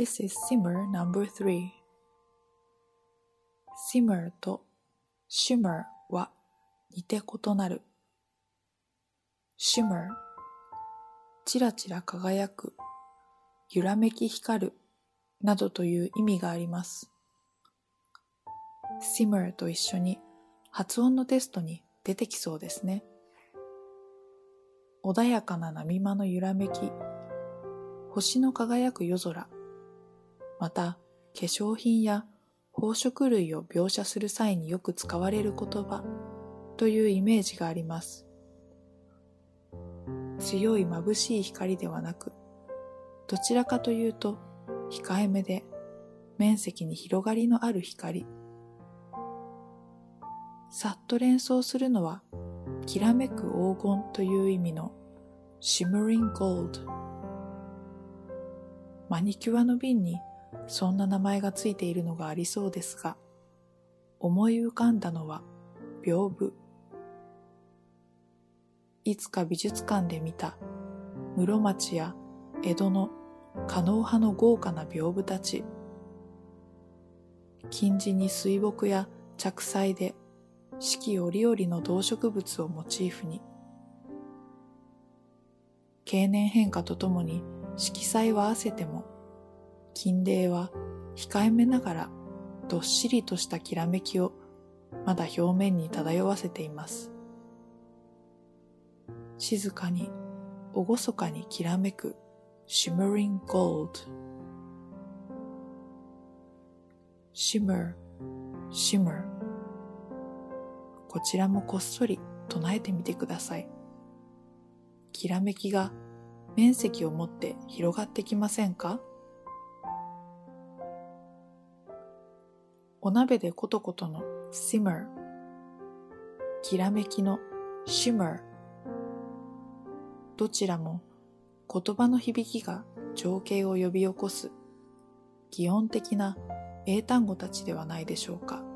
This is simmer number 3. simmer と shimmer は似て異なる。shimmer、ちらちら輝く、揺らめき光るなどという意味があります。simmer と一緒に発音のテストに出てきそうですね。穏やかな波間の揺らめき、星の輝く夜空、また化粧品や宝飾類を描写する際によく使われる言葉というイメージがあります。強い眩しい光ではなく、どちらかというと控えめで面積に広がりのある光。さっと連想するのはきらめく黄金という意味の shimmering gold。マニキュアの瓶にそんな名前がついているのがありそうですが、思い浮かんだのは屏風。いつか美術館で見た室町や江戸の狩野派の豪華な屏風たち。金地に水墨や着彩で四季折々の動植物をモチーフに。経年変化とともに色彩は褪せても、金泥は控えめながらどっしりとしたきらめきをまだ表面に漂わせています。静かに厳かにきらめく shimmering gold。 shimmer shimmer、 こちらもこっそり唱えてみてください。きらめきが面積を持って広がってきませんか？お鍋でコトコトの simmer、 きらめきの shimmer、 どちらも言葉の響きが情景を呼び起こす擬音的な英単語たちではないでしょうか。